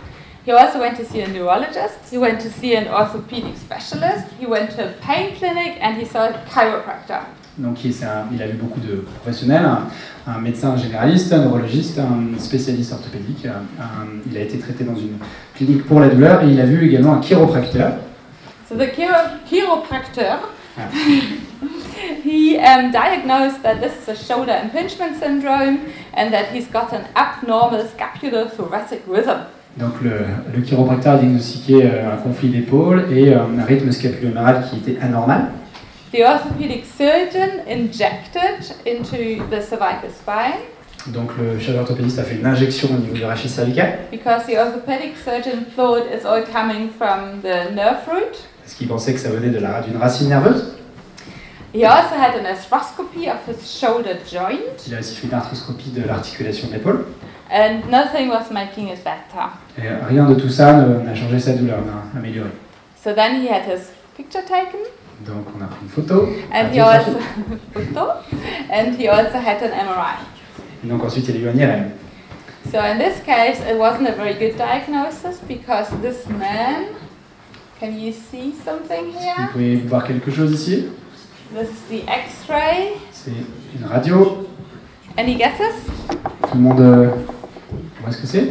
He also went to see a neurologist, he went to see an orthopedic specialist, he went to a pain clinic, and he saw a chiropractor. Donc il, c'est un- il a vu beaucoup de professionnels, un, un médecin généraliste, un neurologiste, un spécialiste orthopédique. un- un- il a été traité dans une clinique pour la douleur et il a vu également un chiropracteur. So the chiro- chiropractor, Ah. he um, diagnosed that this is a shoulder impingement syndrome and that he's got an abnormal scapulothoracic rhythm. Donc le, le chiropracteur a diagnostiqué euh, un conflit d'épaule et euh, un rythme scapulo-huméral qui était anormal. The orthopedic surgeon injected into the cervical spine Donc le chirurgien orthopédiste a fait une injection au niveau du rachis cervical because the orthopedic surgeon thought it's all coming from the nerve root. parce qu'il pensait que ça venait de la, d'une racine nerveuse. He also had an arthroscopy of his shoulder joint, Il a aussi fait une arthroscopie de l'articulation de l'épaule. and nothing was making it better. Et rien de tout ça ne- n'a changé sa douleur, n'a amélioré. So then he had his picture taken, Donc on a pris une photo. and he radiographie. also photo, and he also had an M R I. Et donc ensuite il y a eu un I R M. So in this case, it wasn't a very good diagnosis because this man, can you see something Vous here? pouvez voir quelque chose ici. This is the X-ray. C'est une radio. Any guesses? Tout le monde... euh, Où est-ce que c'est?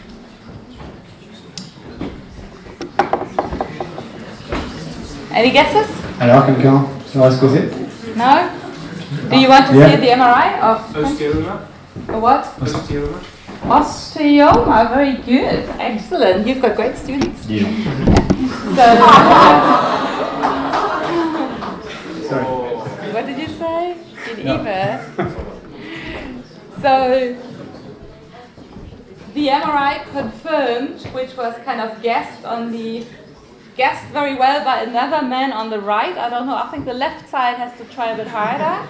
Any guesses? Alors quelqu'un saura ce que c'est? No? Do you want to Yeah. see the M R I of Osteoma. a what? Osteoma. Osteoma. Very good. Excellent. You've got great students. Dis donc. So, Sorry. what did you say? Geneva. So, the M R I confirmed, which was kind of guessed on the guessed very well by another man on the right. I don't know. I think the left side has to try a bit harder.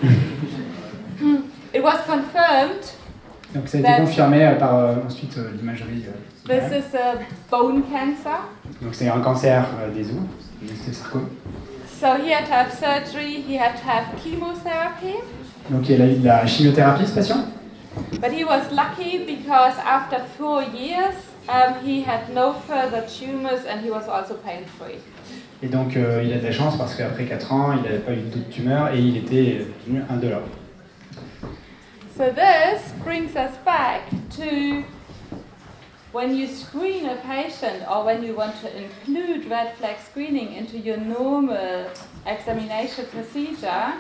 It was confirmed. Donc ça a été That's- confirmé euh, par euh, ensuite euh, l'imagerie. euh, This is a bone cancer. Donc c'est un cancer euh, des os, un ostéosarcome. So he had to have surgery. He had to have chemotherapy. Donc il a eu de la chimiothérapie ce patient. But he was lucky because after four years, um, he had no further tumors and he was also pain-free. Et donc euh, il a de la chance parce qu'après quatre ans, il n'avait pas eu d'autres tumeurs et il était devenu indolore. So this brings us back to when you screen a patient or when you want to include red flag screening into your normal examination procedure.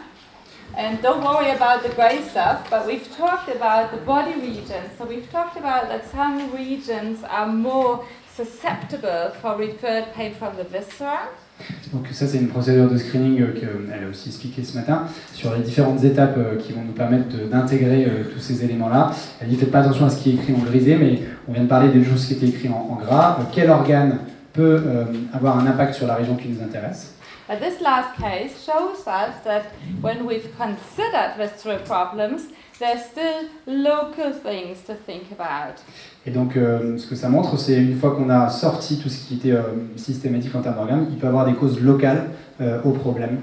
And don't worry about the grey stuff, but we've talked about the body regions. So we've talked about that some regions are more susceptible for referred pain from the viscera. Donc ça c'est une procédure de screening euh, qu'elle a aussi expliqué ce matin sur les différentes étapes euh, qui vont nous permettre de- d'intégrer euh, tous ces éléments-là. Elle dit faites pas attention à ce qui est écrit en grisé, mais on vient de parler des choses qui étaient écrites en, en gras. Euh, quel organe peut euh, avoir un impact sur la région qui nous intéresse? But this last case shows us that when we've considered visceral problems, there's still local things to think about. Et donc euh, ce que ça montre, c'est une fois qu'on a sorti tout ce qui était euh, systématique en termes d'organes, il peut y avoir des causes locales euh, au problème.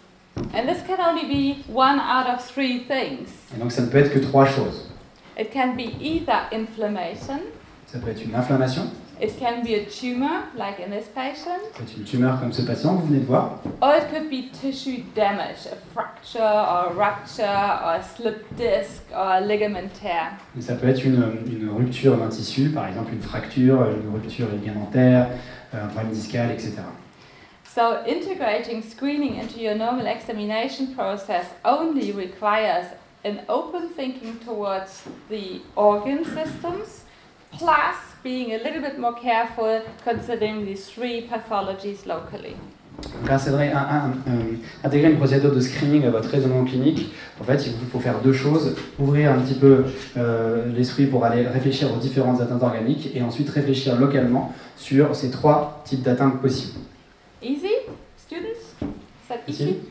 And this can only be one out of three things. Et donc ça ne peut être que trois choses. It can be either inflammation, Ça peut être une inflammation, it can be a tumor, like in this patient, ça peut être une tumeur comme ce patient que vous venez de voir, or it could be tissue damage, a fracture or a rupture or a slip disc or a ligament tear. et ça peut être une, une rupture d'un tissu, par exemple une fracture, une rupture ligamentaire, un problème discal, et cetera. So integrating screening into your normal examination process only requires an open thinking towards the organ systems, plus being a little bit more careful considering these three pathologies locally. Donc intégrer, un, un, un, intégrer une procédure de screening à votre raisonnement clinique, en fait il vous faut faire deux choses, ouvrir un petit peu euh, l'esprit pour aller réfléchir aux différentes atteintes organiques et ensuite réfléchir localement sur ces trois types d'atteintes possibles. Easy, students? Is that easy? Easy.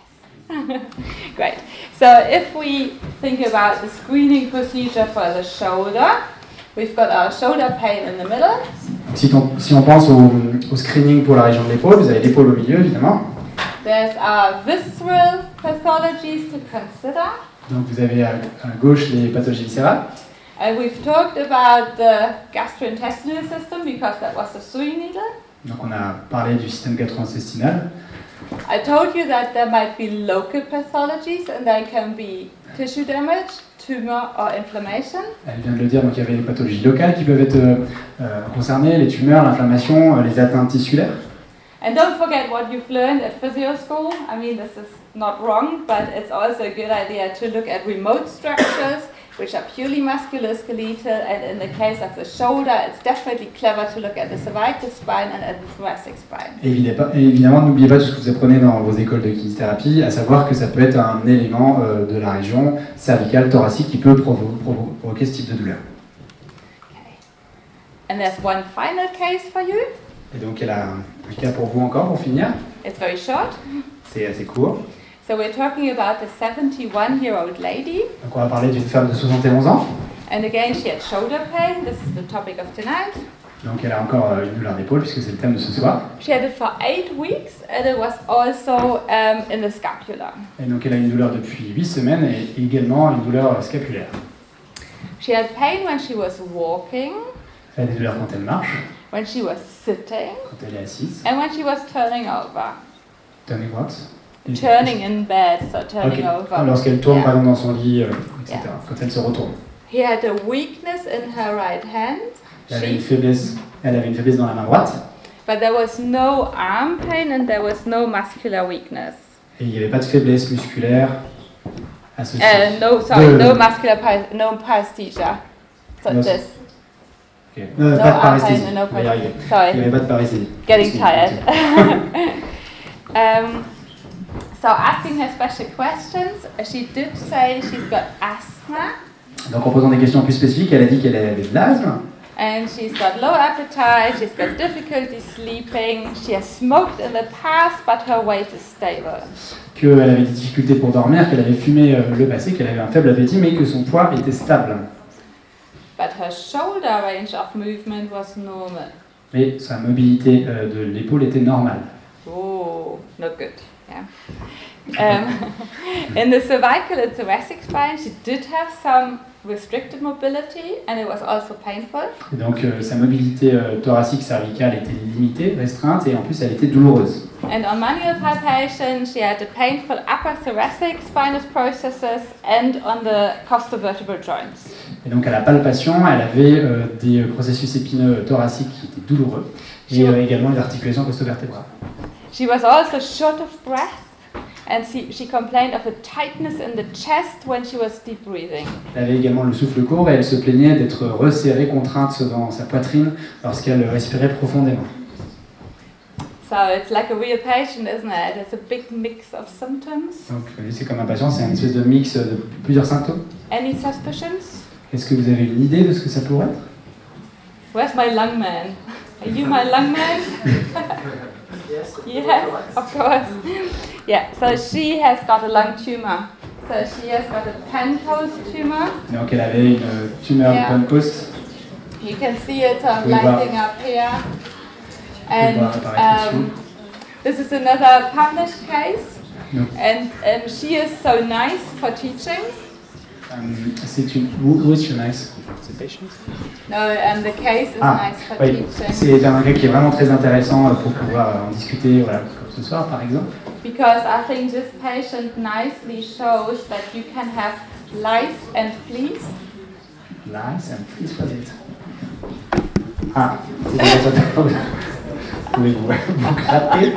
Yes. Great. So if we think about the screening procedure for the shoulder, we've got our shoulder pain in the middle. Si on, si on pense au, au screening pour la région de l'épaule, vous avez l'épaule au milieu évidemment. There's our visceral pathologies to consider. Donc vous avez à, à gauche les pathologies viscérales. And we've talked about the gastrointestinal system because that was the Sui needle. Donc on a parlé du système gastro-intestinal. I told you that there might be local pathologies and there can be tissue damage, tumor or inflammation. Elle vient de le dire, donc il y avait les pathologies locales qui peuvent être euh, euh, concernées, les tumeurs, l'inflammation, euh, les atteintes tissulaires. And don't forget what you've learned at physio school. I mean, this is not wrong, but it's also a good idea to look at remote structures, which are purely musculoskeletal, and in the case of the shoulder, it's definitely clever to look at the cervical spine and at the thoracic spine. Et évidemment, et évidemment, n'oubliez pas tout ce que vous apprenez dans vos écoles de kinésithérapie, à savoir que ça peut être un élément euh, de la région cervicale, thoracique, qui peut provo- provo- provoquer ce type de douleur. Okay. And there's one final case for you. Et donc, elle a un cas pour vous encore, pour finir. It's very short. C'est assez court. So we're talking about a seventy-one-year-old lady. Donc, on va parler d'une femme de soixante et onze ans. And again, she had shoulder pain. This is the topic of tonight. Donc, elle a encore euh, une douleur d'épaule, puisque c'est le thème de ce soir. She had it for eight weeks, and it was also um, in the scapula. Et donc, elle a une douleur depuis huit semaines et également une douleur euh, scapulaire. She had pain when she was walking, Elle a des douleurs quand elle marche, when she was sitting, quand elle est assise. and when she was turning over. Turning what? Turning in bed, so turning Ok. over. Lorsqu'elle tourne Yeah. par exemple dans son lit, euh, et cetera. Yeah. Quand elle se retourne. He had a weakness in her right hand, Elle avait, une she, faiblesse, elle avait une faiblesse dans la main droite but there was no arm pain and there was no muscular weakness. et il n'y avait pas de faiblesse musculaire associée. Uh, no, sorry, De- no muscular, pa- no paresthesia. So No- this. Ok. Euh, No pas de arm pain paresthésie. and no On va y arriver. paresthesia. Il Sorry. n'y avait pas de paresthésie. Getting Parce que- tired. um, so asking her special questions, she did say she's got asthma Donc en posant des questions plus spécifiques, elle a dit qu'elle avait de l'asthme, and she's got low appetite, she's got difficulty sleeping, she has smoked in the past but her weight is stable. qu'elle avait des difficultés pour dormir, qu'elle avait fumé euh, le passé, qu'elle avait un faible appétit, mais que son poids était stable. But her shoulder range of movement was normal. Mais sa mobilité euh, de l'épaule était normale. Oh, not good. Yeah. Um, in the cervical and thoracic spine, she did have some restricted mobility, and it was also painful. Et donc euh, sa mobilité euh, thoracique cervicale était limitée, restreinte, et en plus elle était douloureuse. And on manual palpation, she had the painful upper thoracic spinous processes and on the costovertebral joints. Et donc à la palpation, elle avait euh, des processus épineux thoraciques qui étaient douloureux, et euh, également les articulations costovertébrales. She was also short of breath, and she, she complained of a tightness in the chest when she was deep breathing. Elle avait également le souffle court, et elle se plaignait d'être resserrée, contrainte dans sa poitrine lorsqu'elle respirait profondément. So it's like a real patient, isn't it? It's a big mix of symptoms. Donc euh, c'est comme un patient, c'est un espèce de mix de plusieurs symptômes. Any suspicions? Est-ce que vous avez une idée de ce que ça pourrait être? Where's my lung man? Are you my lung man? Yes. Yes, of course. Yeah, so she has got a lung tumor. So she has got a Pancoast tumor. Donc elle avait une euh, tumeur Yeah. de Pancoast. You can see it um, Oui, bah. lighting up here. And bah, apparaître um, this is another published case. No. And um, she is so nice for teaching. Euh, c'est une. Who, who is she nice? The patient? No, and the case is Ah, nice for oui. teaching. C'est un cas qui est vraiment très intéressant euh, pour pouvoir euh, en discuter, voilà, comme ce soir par exemple. Because I think this patient nicely shows that you can have lice and fleas. Nice and please was it. Ah, c'est déjà ça. Pouvez-vous vous gratter?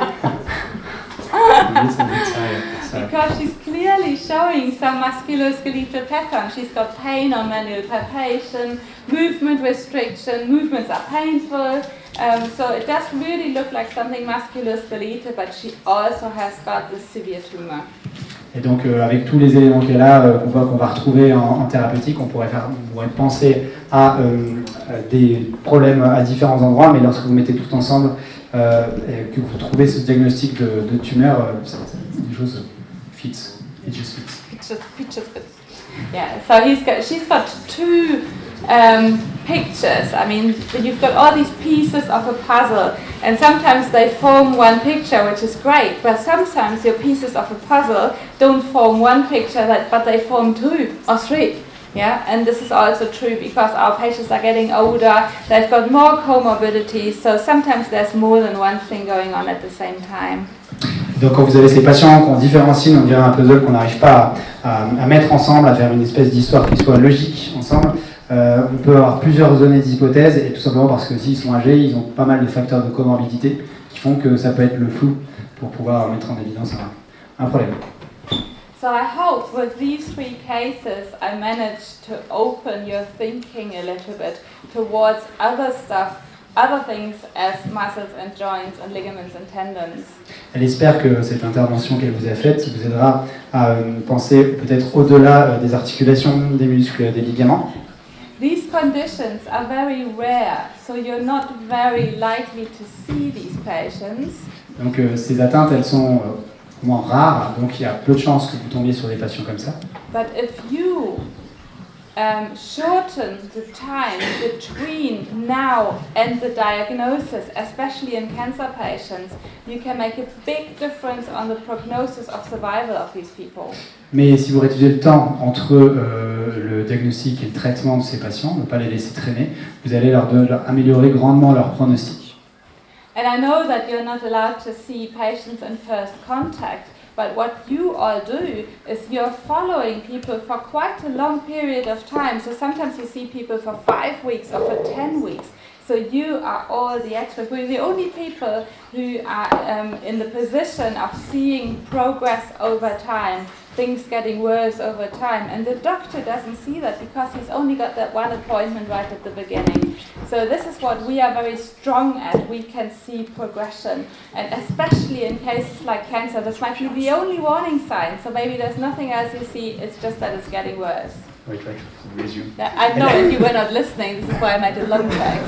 Yes, and it's, uh, sorry. Because she's clearly showing some musculoskeletal pattern. She's got pain on manual palpation, movement restriction, movements are painful. Um, so it does really look like something musculoskeletal, but she also has got this severe tumor. Et donc euh, avec tous les éléments qu'elle a, euh, qu'on va, qu'on va retrouver en, en thérapeutique, on pourrait, faire, on pourrait penser à euh, des problèmes à différents endroits, mais lorsque vous mettez tout ensemble euh, et que vous trouvez ce diagnostic de, de tumeur, euh, ça, ça, des choses fit. It just fits. Pictures, pictures, bits. Yeah. So he's got, she's got two um, pictures. I mean, you've got all these pieces of a puzzle, and sometimes they form one picture, which is great. But sometimes your pieces of a puzzle don't form one picture, that, but they form two or three. Yeah, and this is also true because our patients are getting older, they've got more comorbidities, so sometimes there's more than one thing going on at the same time. Donc quand vous avez ces patients qui ont différents signes, on dirait un puzzle qu'on n'arrive pas à, à, à mettre ensemble, à faire une espèce d'histoire qui soit logique ensemble, euh, on peut avoir plusieurs données d'hypothèses, et tout simplement parce que s'ils sont âgés, ils ont pas mal de facteurs de comorbidité qui font que ça peut être le flou pour pouvoir mettre en évidence un, un problème. So I hope with these three cases I managed to open your thinking a little bit towards other stuff, other things as muscles and joints and ligaments and tendons. Elle espère que cette intervention qu'elle vous a faite vous aidera à euh, penser peut-être au-delà euh, des articulations, des muscles, des ligaments. These conditions are very rare, so you're not very likely to see these patients. Donc euh, ces atteintes, elles sont euh, moins rares, donc il y a peu de chances que vous tombiez sur des patients comme ça. But if you um, shorten the time between now and the diagnosis, especially in cancer patients, you can make a big difference on the prognosis of survival of these people. Mais si vous réduisez le temps entre euh, le diagnostic et le traitement de ces patients, ne pas les laisser traîner, vous allez leur, de, leur améliorer grandement leur pronostic. And I know that you're not allowed to see patients in first contact, but what you all do is you're following people for quite a long period of time. So sometimes you see people for five weeks or for ten weeks. So you are all the experts. We're the only people who are um, in the position of seeing progress over time, things getting worse over time. And the doctor doesn't see that because he's only got that one appointment right at the beginning. So this is what we are very strong at. We can see progression. And especially in cases like cancer, this might be the only warning sign. So maybe there's nothing else you see, it's just that it's getting worse. Oui, try to resume. I know if you were not listening, this is why I made a long text.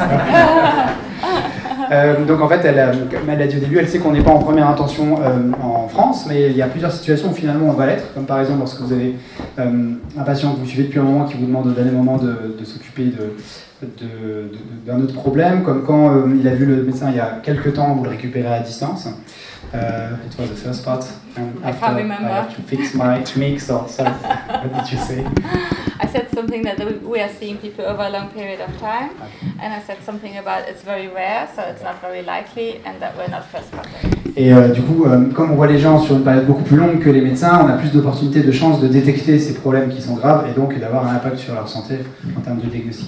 euh, donc en fait, elle, comme elle a dit au début, elle sait qu'on n'est pas en première intention euh, en France, mais il y a plusieurs situations où finalement on va l'être, comme par exemple lorsque vous avez euh, un patient que vous suivez depuis un moment qui vous demande au dernier moment de, de s'occuper de, de, de, de, d'un autre problème, comme quand euh, il a vu le médecin il y a quelques temps, vous le récupérez à distance. Uh, it was the first part, and I after can't remember. I have to fix my mix or something. What did you say? I said something that we are seeing people over a long period of time, and I said something about it's very rare, so it's not very likely, and that we're not first contact. Et euh, du coup, euh, comme on voit les gens sur une période beaucoup plus longue que les médecins, on a plus d'opportunités, de chances de détecter ces problèmes qui sont graves et donc d'avoir un impact sur leur santé en termes de diagnostic.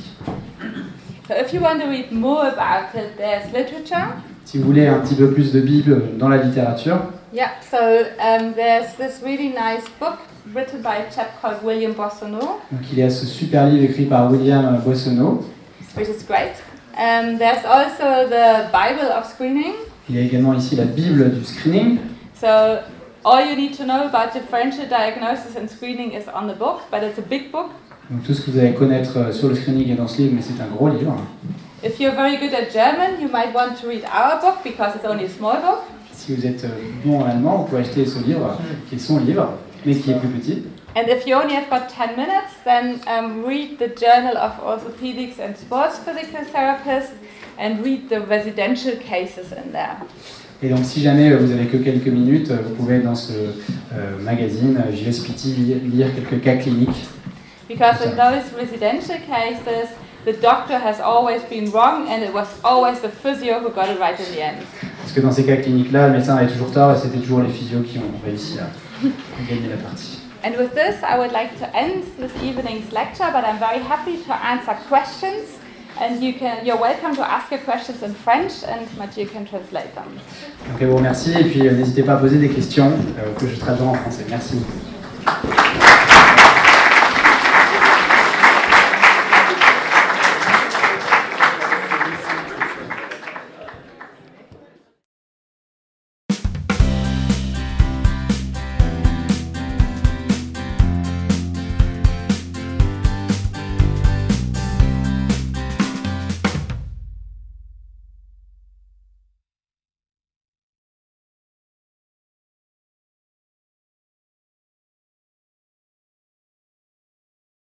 So if you want to read more about it, there's literature. Si vous voulez un petit peu plus de Bible dans la littérature, Yeah, so um, there's this really nice book written by a chap called William Boissonneau, donc il y a ce super livre écrit par William Boissonneau. which is great. Um, there's also the Bible of screening. Il y a également ici la Bible du screening. So all you need to know about differential diagnosis and screening is on the book, but it's a big book. Donc tout ce que vous allez connaître sur le screening est dans ce livre, mais c'est un gros livre. If you're very good at German, you might want to read our book because it's only a small book. Si vous êtes bon en allemand, vous pouvez acheter ce livre, qui est son livre, mais qui est plus petit. And if you only have got ten minutes, then um, read the Journal of Orthopedics and Sports Physical Therapists and read the residential cases in there. Et donc si jamais vous avez que quelques minutes, vous pouvez dans ce euh, magazine J S P T lire, lire quelques cas cliniques. Because in those residential cases, the doctor has always been wrong and it was always the physio who got it right in the end. Parce que dans ces cas cliniques-là, le médecin avait toujours tort et c'était toujours les physios qui ont réussi à, à gagner la partie. And with this, I would like to end this evening's lecture, but I'm very happy to answer questions. And you can, you're welcome to ask your questions in French, and Mathieu can translate them. Donc je vous remercie et puis euh, n'hésitez pas à poser des questions euh, que je traduirai en français. Merci.